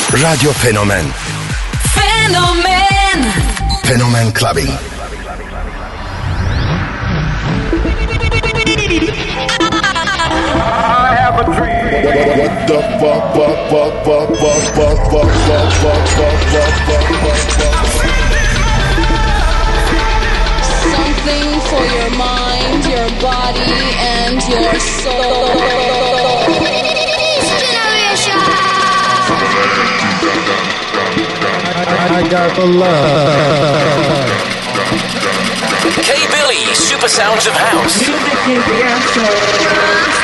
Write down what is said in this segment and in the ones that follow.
Radyo Fenomen. Fenomen. Fenomen Clubbing. I have a dream. What the Something for your mind, your body, and your soul. I got the love. K-Billy, Super Sounds of House. Music is the answer.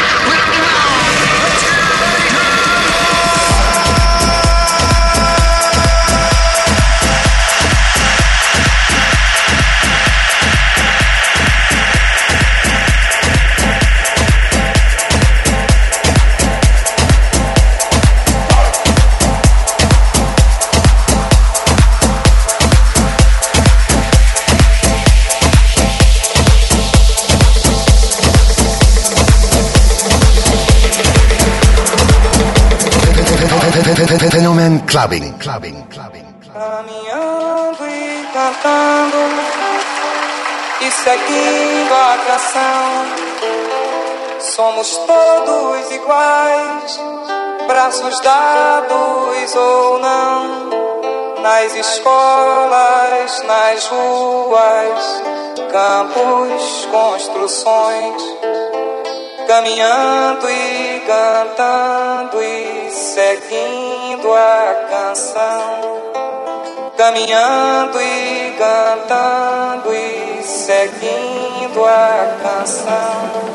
Fenomen Clubbing. Caminhando e cantando e seguindo a canção. Somos todos iguais, braços dados ou não. Nas escolas, nas ruas, campos, construções. Caminhando e cantando e seguindo a canção. Caminhando e cantando e seguindo a canção.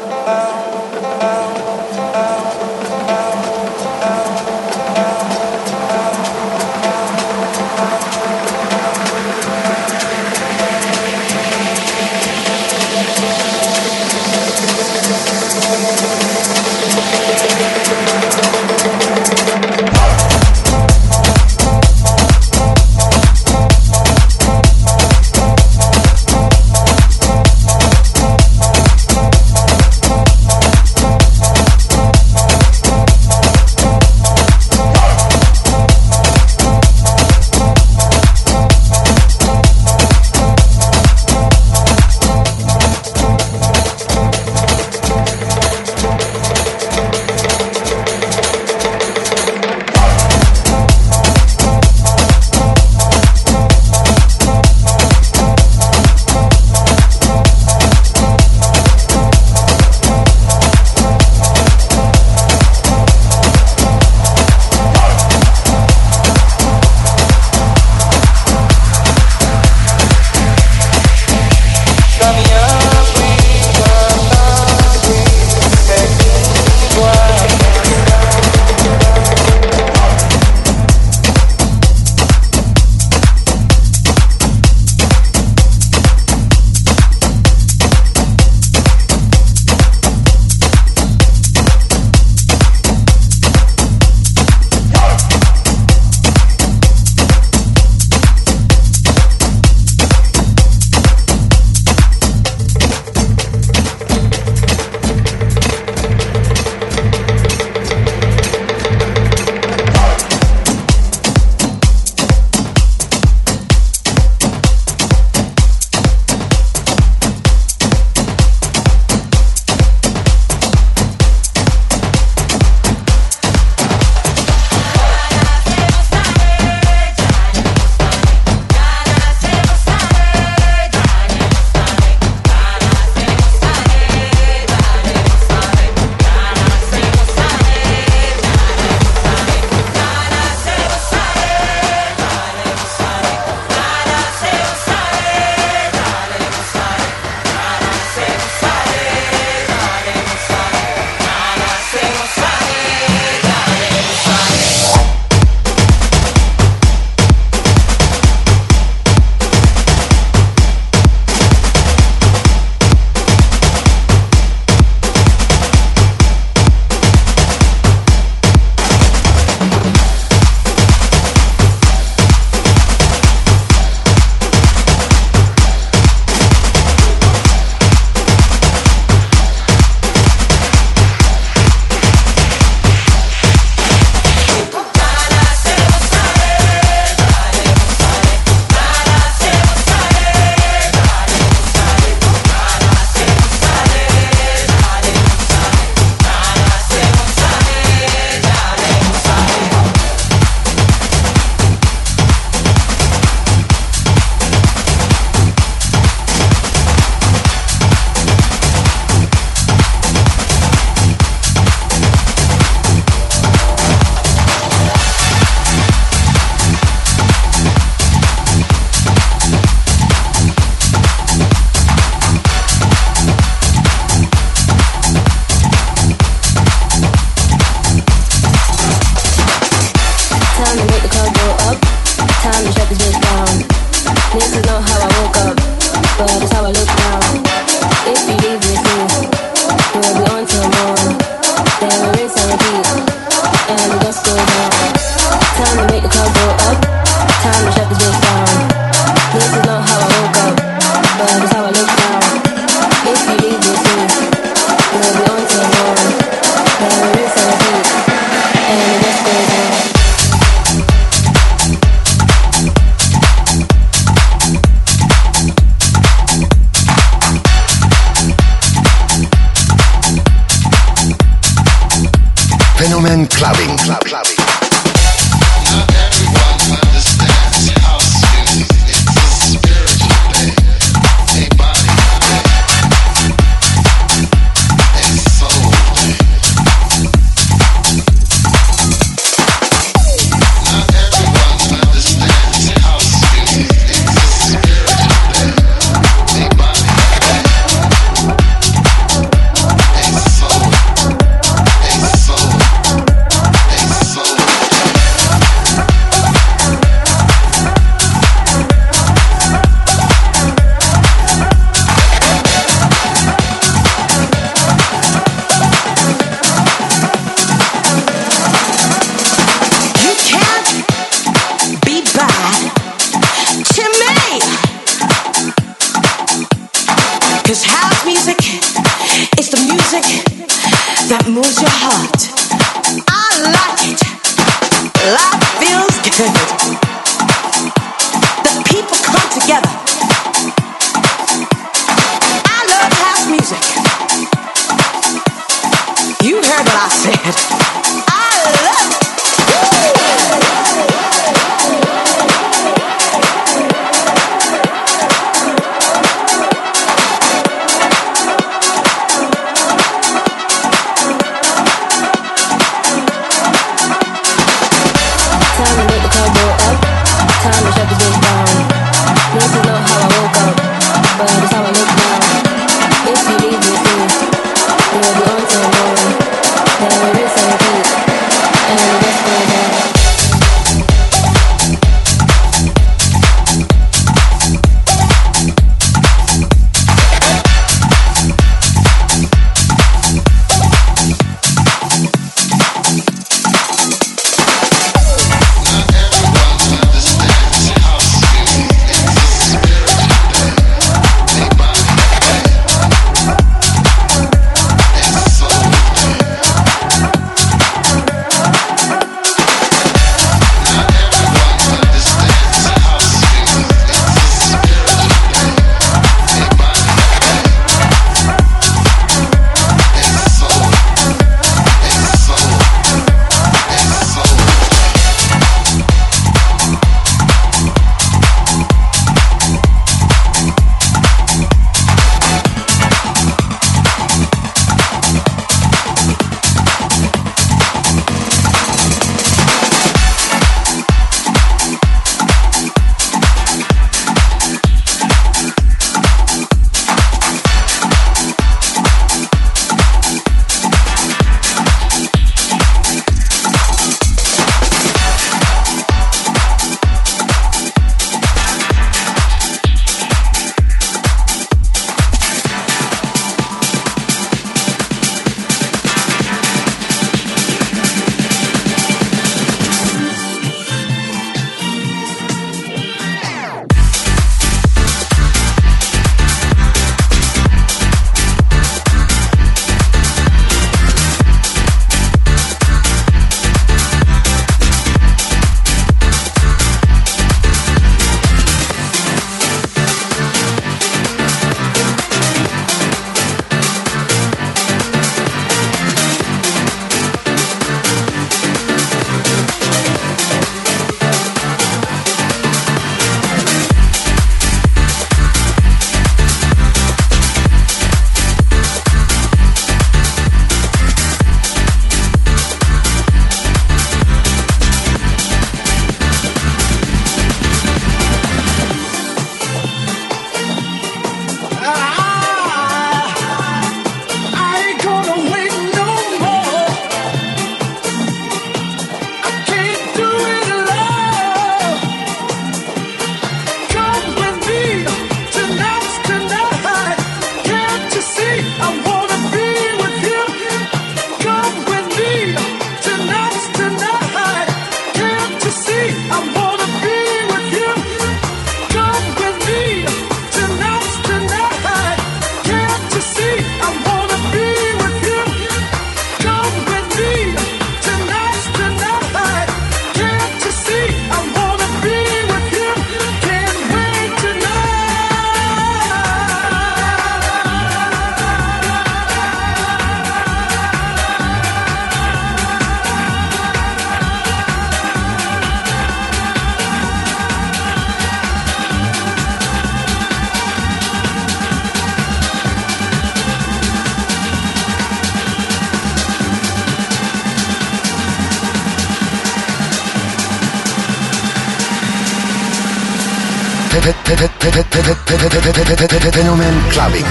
Fenomen Clubbing.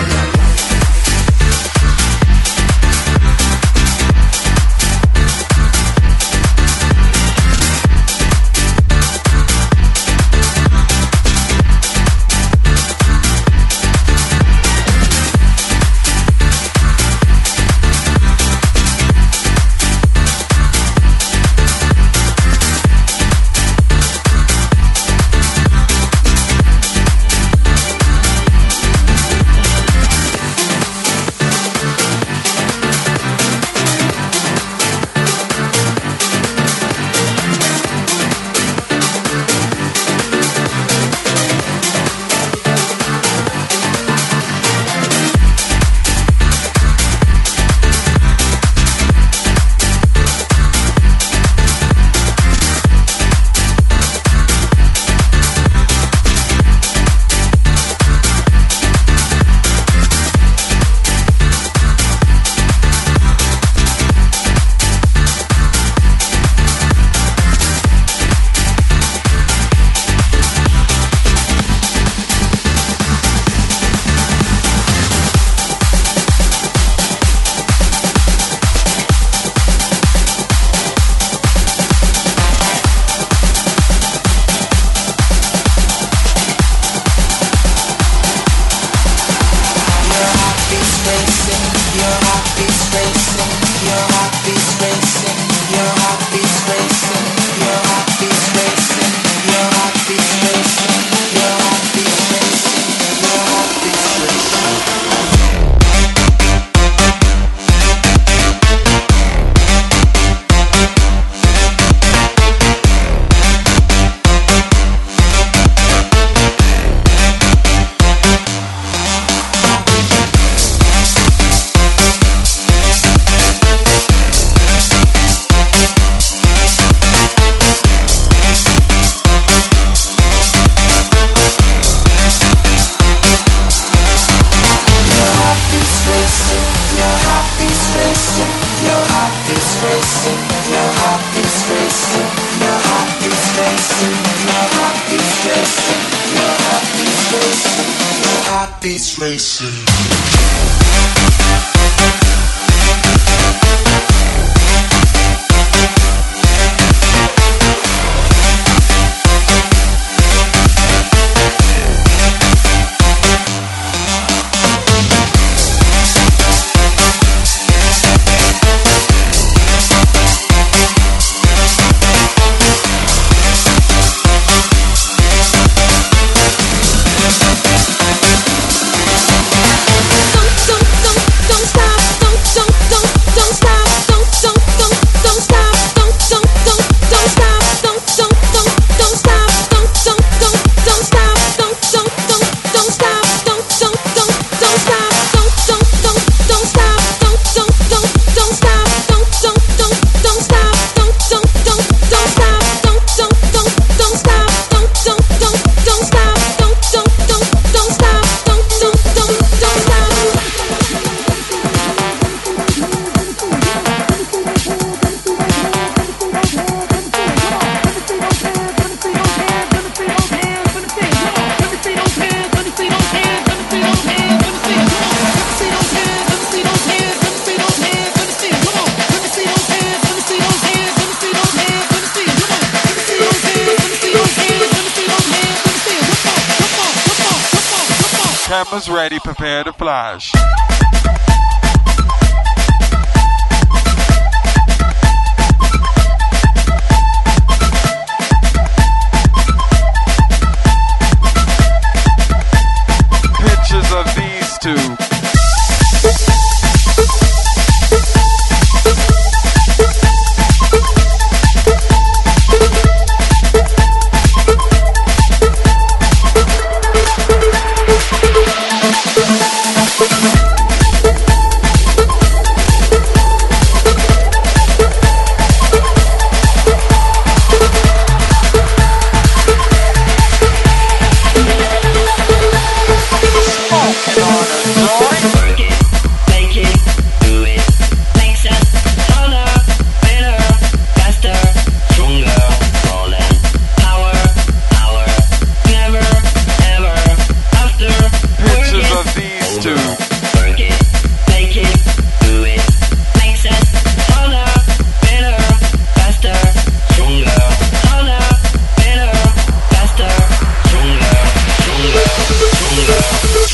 Cameras ready, prepare to flash. Pictures of these two.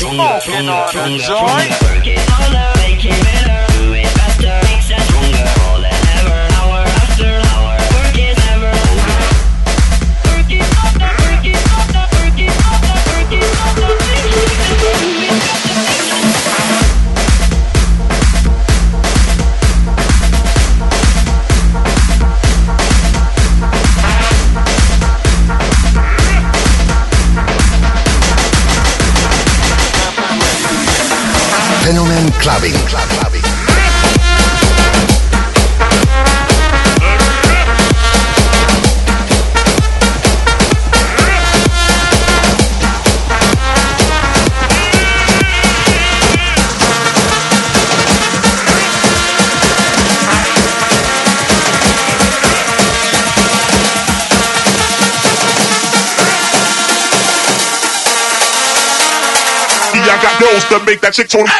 smoking on a joint. Fenomen Clubbing. I got those to make that chick tone.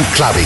Clubbing.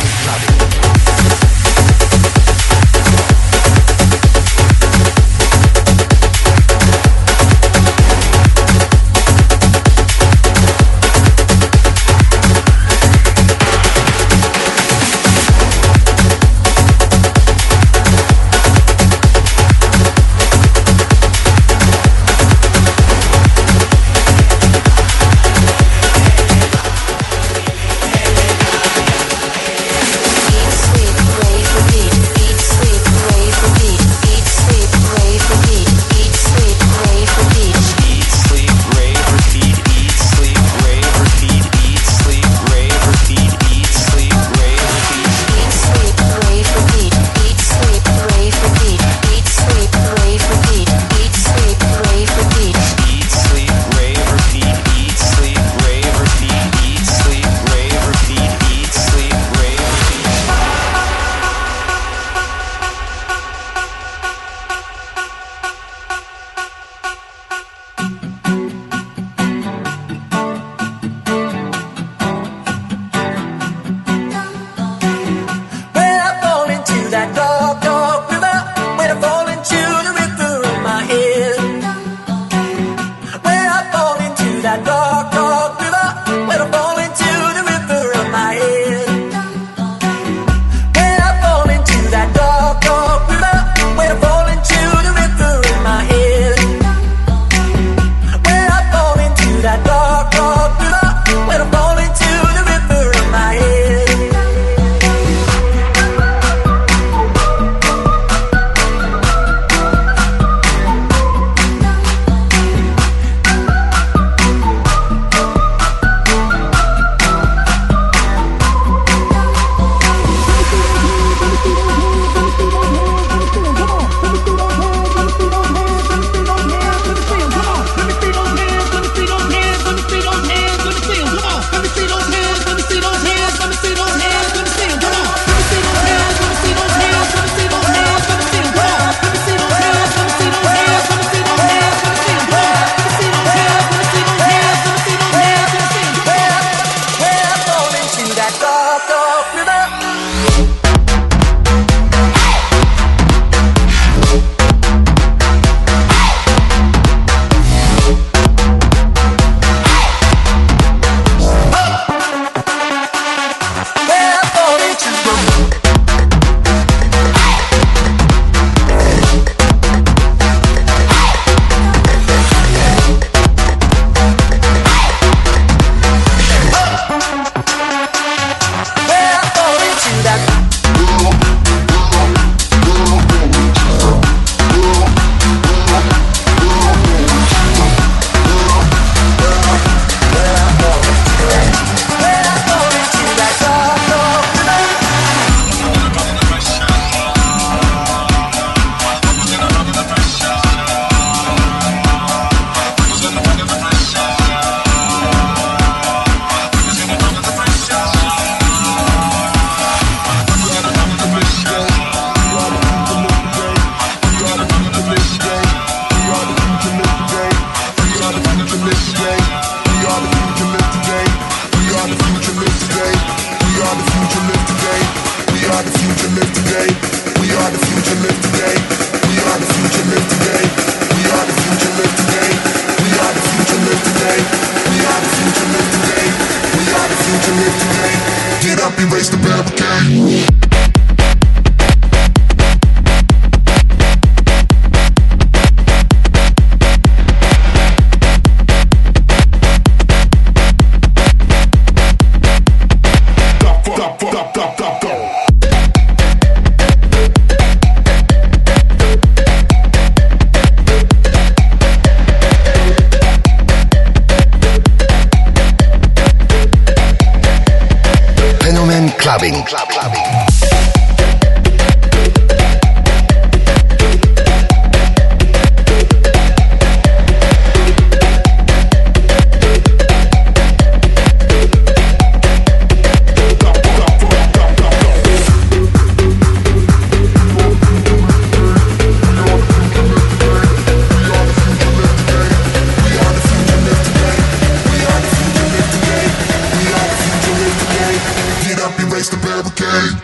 Clubbing. Erase the bad barricade.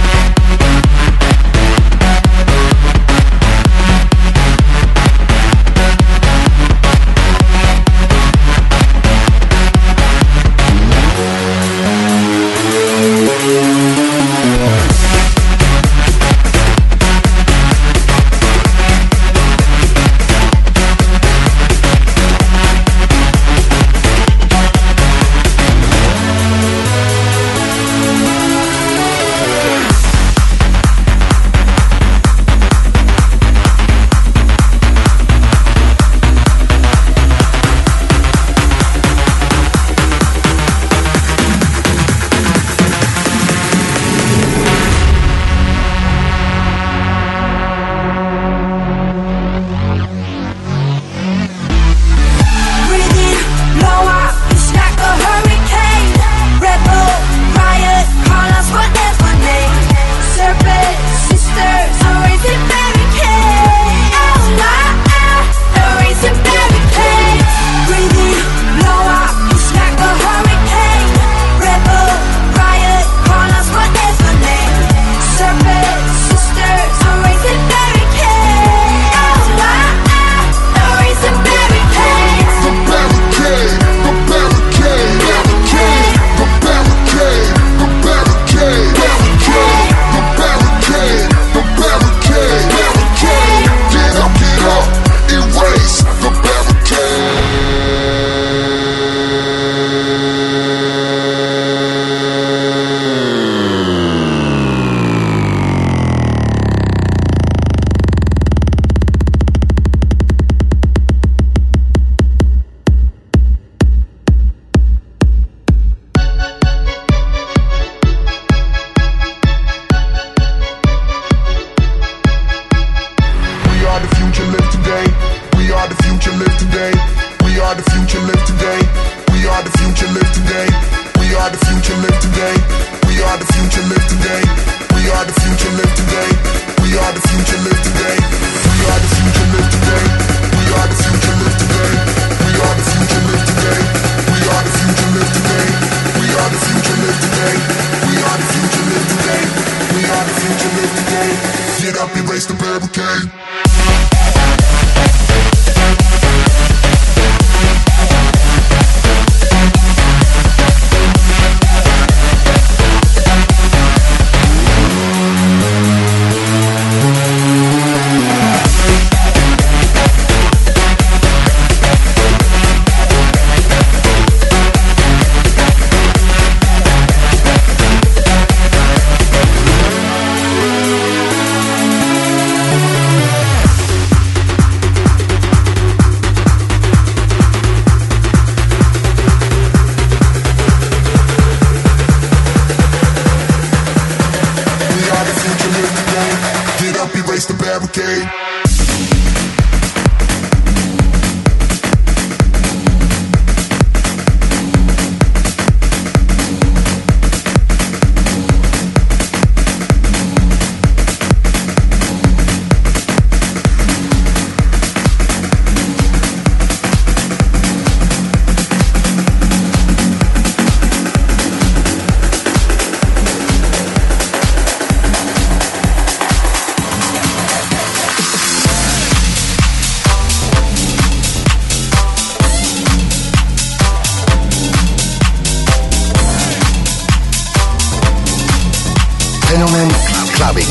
Fenomen Clubbing.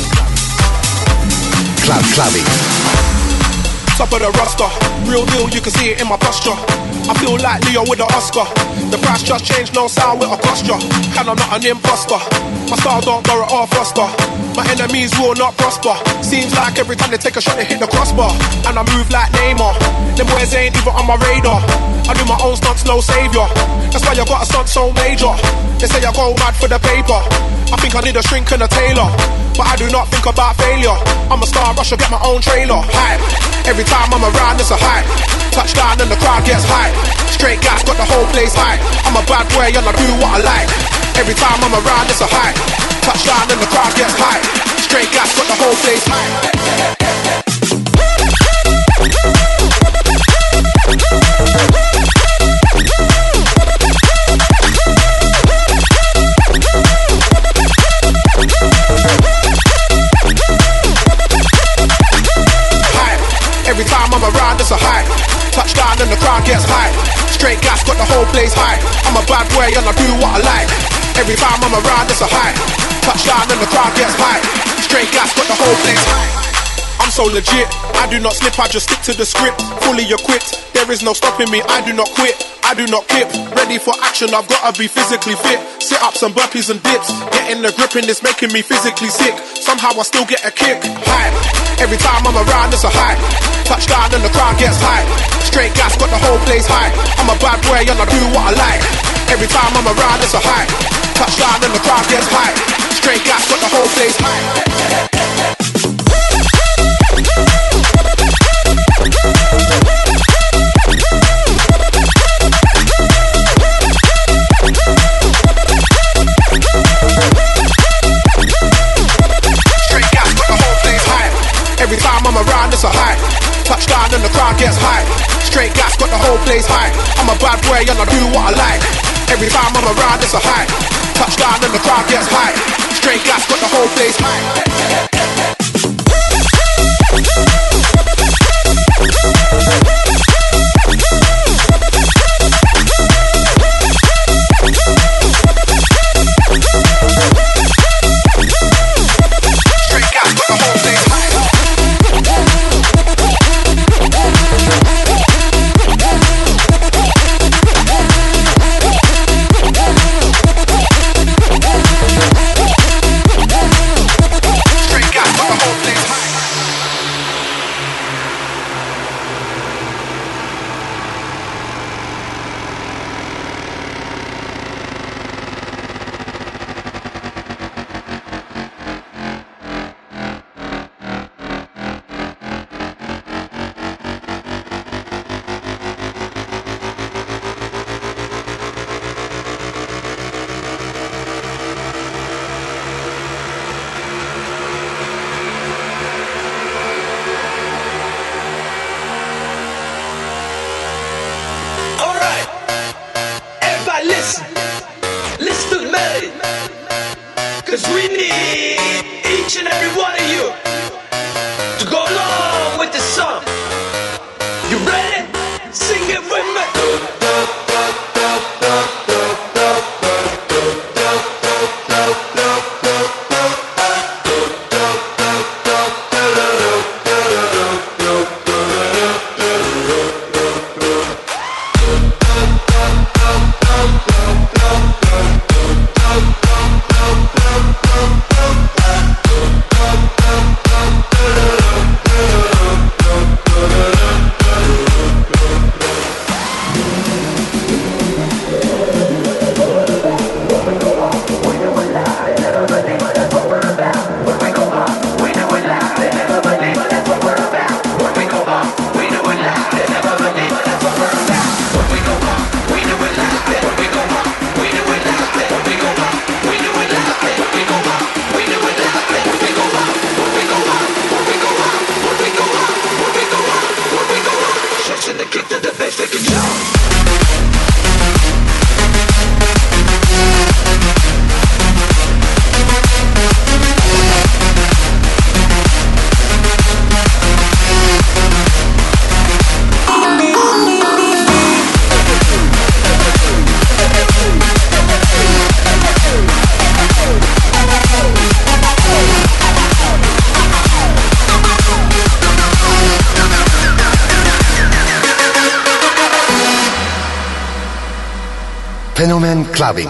Clubbing. Top of the roster, real deal, you can see it in my posture. I feel like Leo with the Oscar. The price just changed, no sound with a posture. And I'm not an imposter. My style don't borrow or foster. My enemies will not prosper. Seems like every time they take a shot, they hit the crossbar. And I move like Neymar. Them boys ain't even on my radar. I do my own stunts, no savior. That's why I got a stunt so major. They say I go mad for the paper. I think I need a shrink and a tailor, but I do not think about failure. I'm a star, rush, I get my own trailer. Hype. Every time I'm around, it's a hype. Touchdown and the crowd gets hype. Straight gas, got the whole place hype. I'm a bad boy and I do what I like. Every time I'm around, it's a hype. Touchdown and the crowd gets hype. Straight gas, got the whole place hype. Touchdown and the crowd gets high. Straight gas, got the whole place high. I'm a bad boy and I do what I like. Every time I'm around, it's a high. Touchdown and the crowd gets high. Straight gas, got the whole place high. I'm so legit, I do not slip, I just stick to the script. Fully equipped, there is no stopping me, I do not quit, I do not kip. Ready for action, I've gotta be physically fit. Sit-ups and burpees and dips. Getting the grip in this making me physically sick. Somehow I still get a kick, high. Every time I'm around, it's a high. Touchdown and the crowd gets high. Straight gas, got the whole place high. I'm a bad boy and I do what I like. Every time I'm around, it's a high. Touchdown and the crowd gets high. Straight gas, got the whole place high. Every time I'm around, it's a high. Touchdown and the crowd gets high. Straight gas, got the whole place high. I'm a bad boy and I do what I like. Every time I'm around, it's a high. Touchdown and the crowd gets high. Straight gas, got the whole place high. Fenomen Clubbing.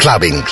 clubbing.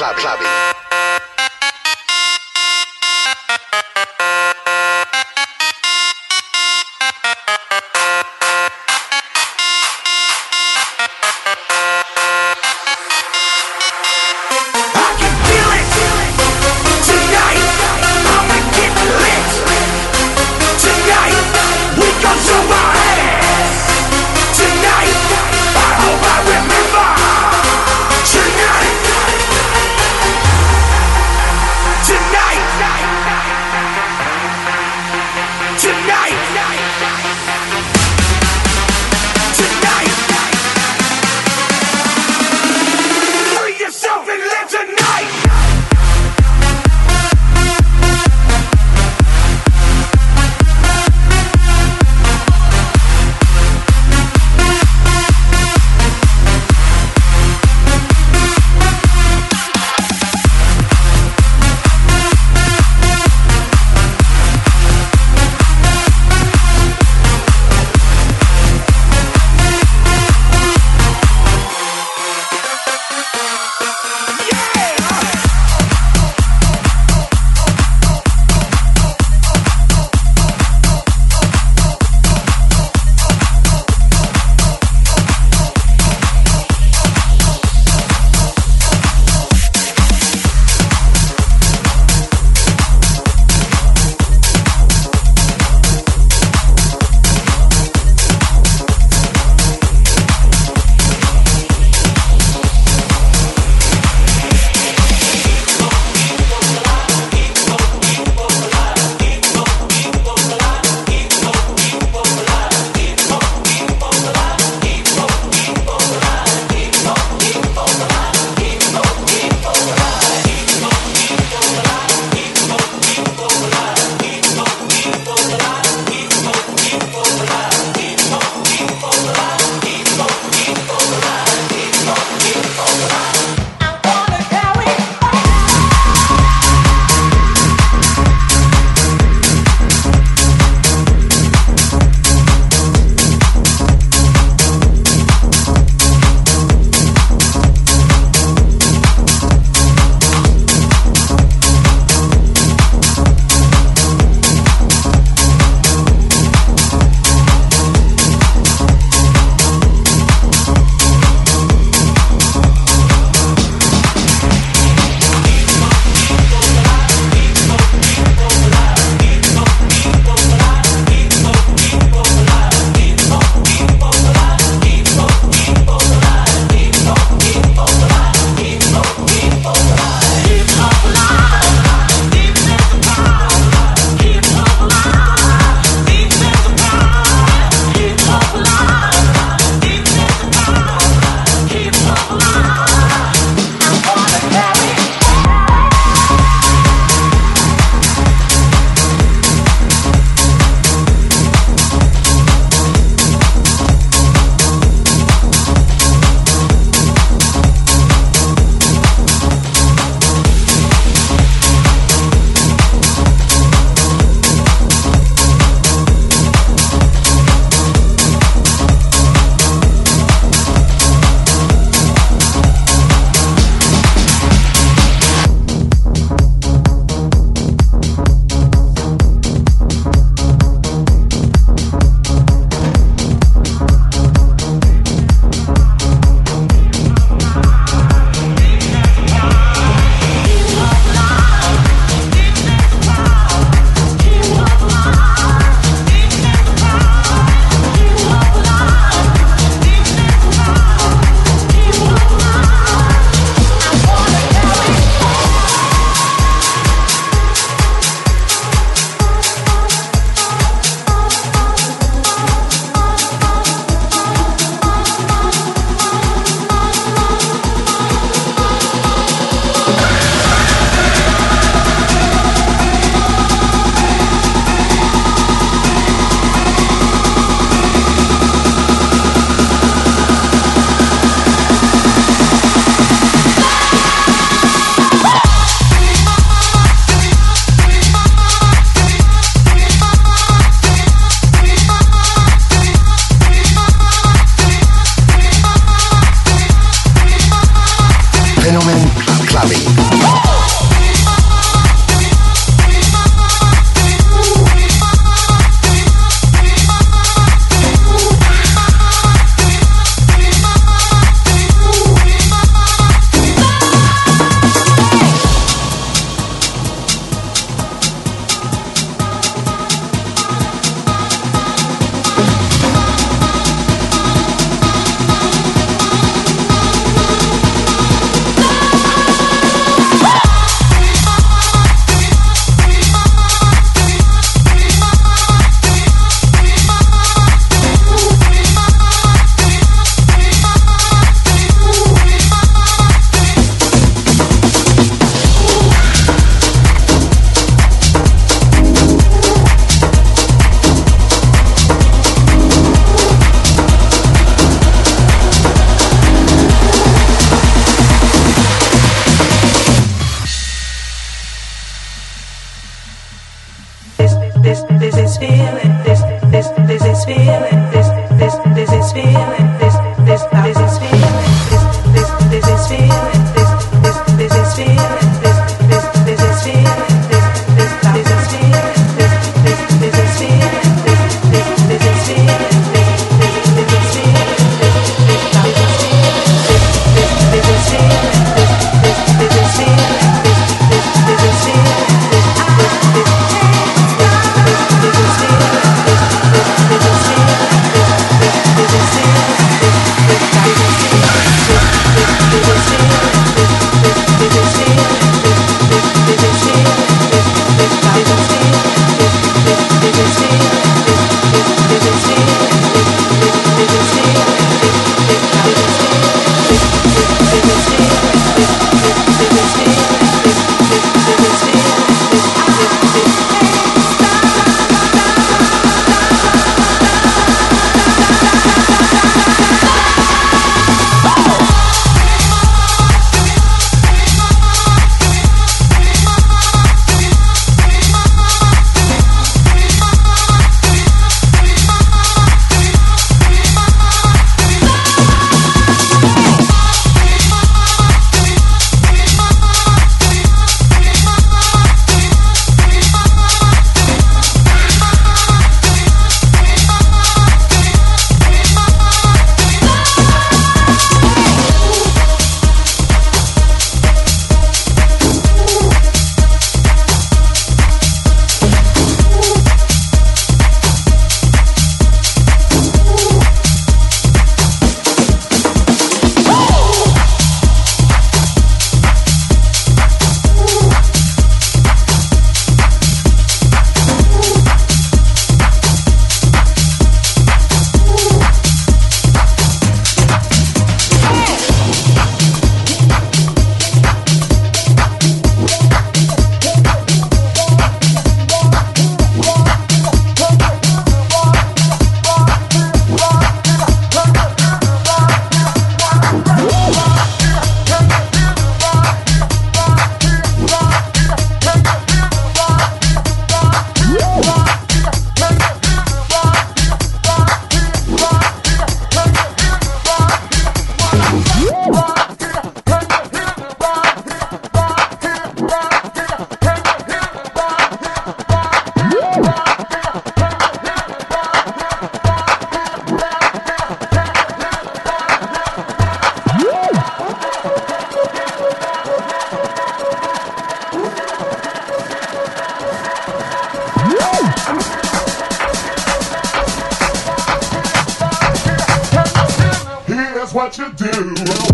what you do.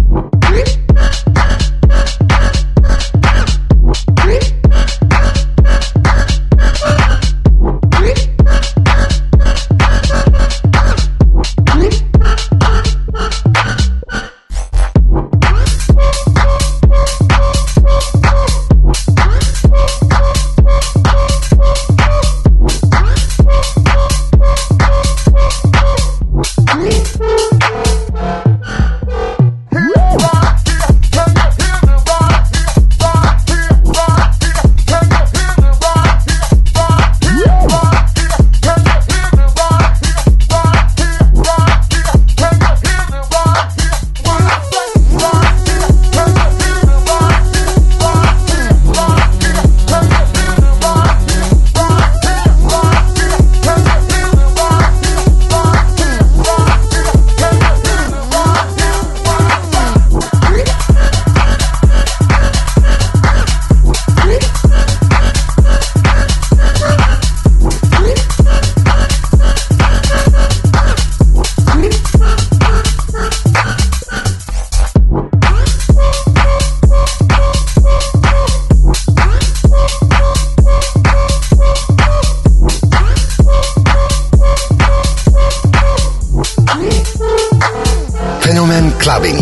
Fenomen Clubbing.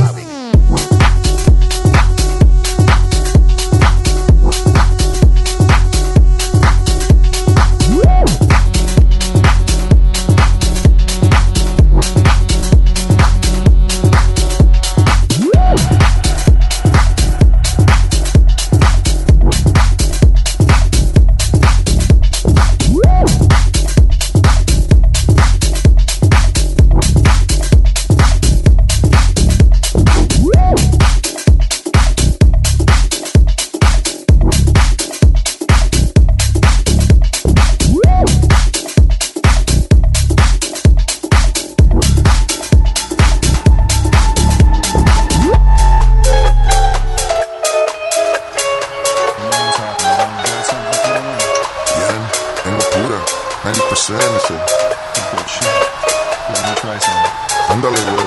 90% ese. Good shit. Let me try some. Ándale, güey.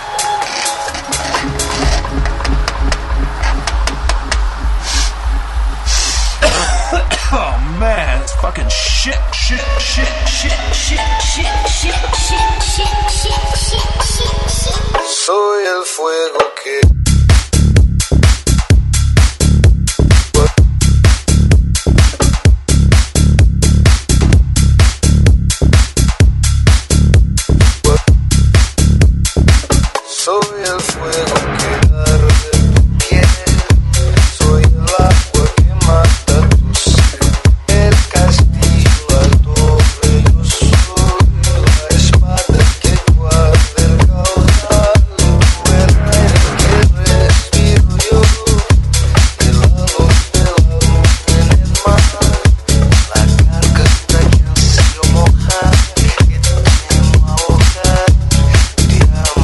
Oh man, it's fucking shit. Soy el fuego que soy el fuego que arde tu piel, soy el agua que mata tu sed, el castillo al doble, yo soy la espada que guarda el caudal, tú el aire que respiro yo, el halo de la luz en el mar, la garganta que ansío mojar, que temo ahogar, te amo.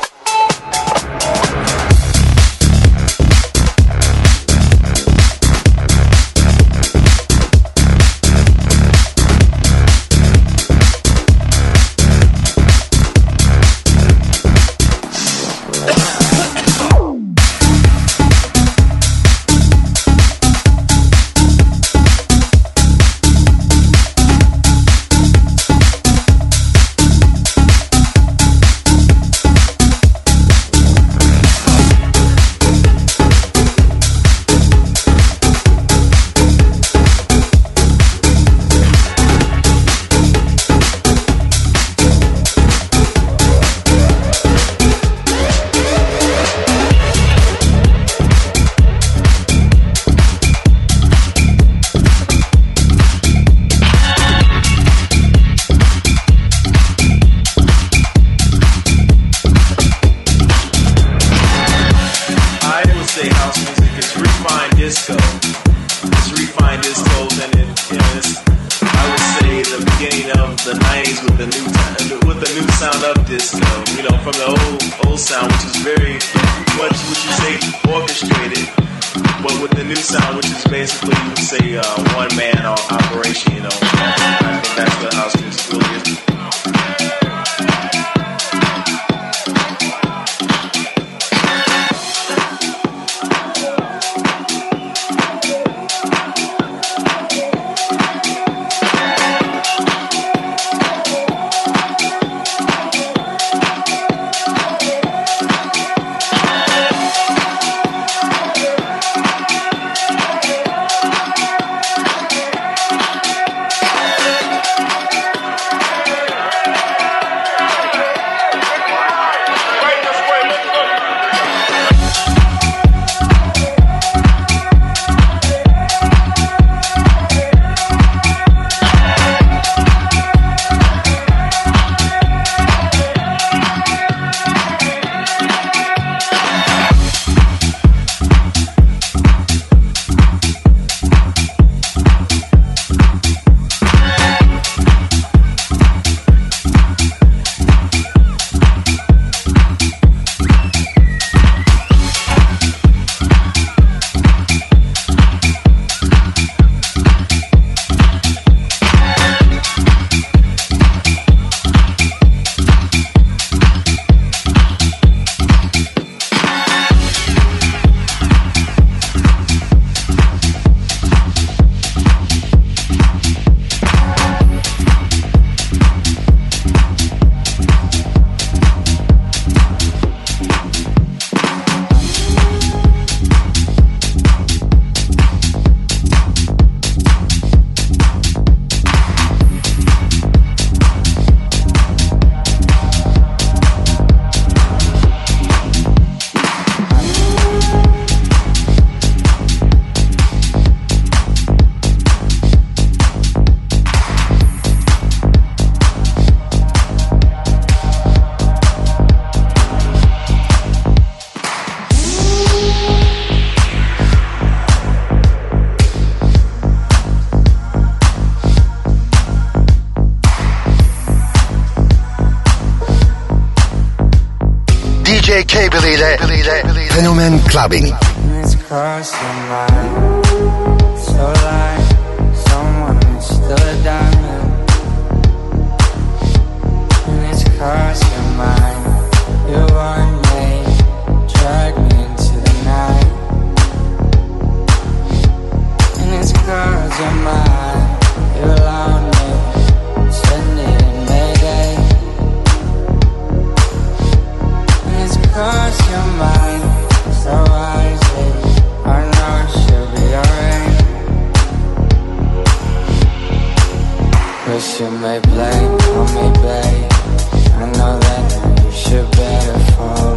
DJ Cable ile Fenomen Clubbing. It's crossing my so like someone stood down 'Cause you may blame on me, babe. I know that you should better fall.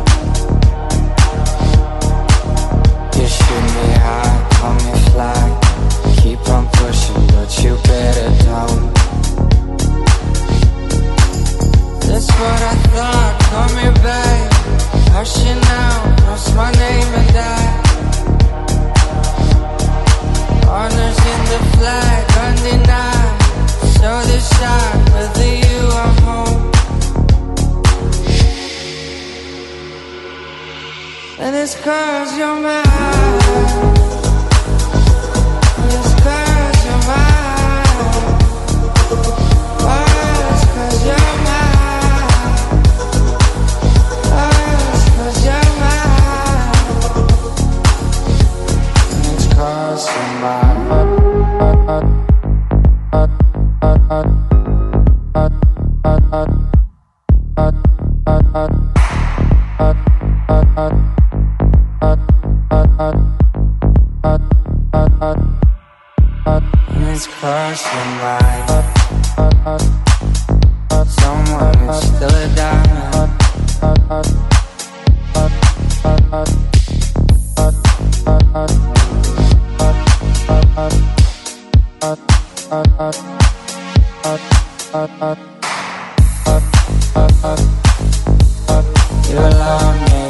You shoot me high, call me fly. Keep on pushing, but you better don't. That's what I thought, call me babe. Hush it now, cross my name and die. Honors in the flag, undenied. So decide whether you are home. And it's 'cause you're mine. And it's 'cause you're mine. Oh, it's 'cause you're mine. Oh, it's 'cause you're mine. And it's 'cause you're mine. And it's 'cause you're mine. Someone who's still a diamond. You love me.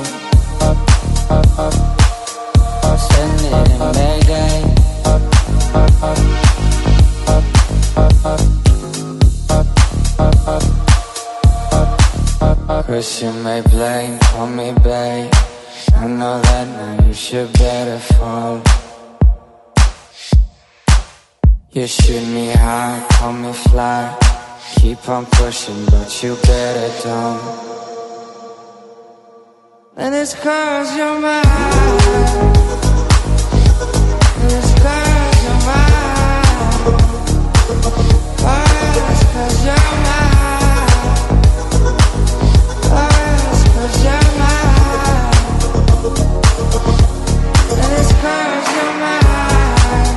Send it in Mayday. 'Cause you may blame on me, babe. I know that now you should better fall. You shoot me high, call me fly. Keep on pushing, but you better don't. And it's 'cause you're mine. And it's 'cause you're mine. Oh, it's 'cause you're mine. Oh, it's 'cause you're mine. And it's 'cause you're mine.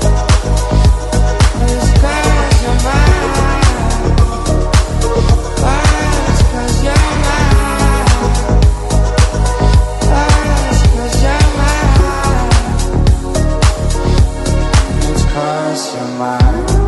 And it's 'cause you're mine. Oh, it's 'cause you're mine. Oh, it's 'cause you're mine. It's 'cause you're mine.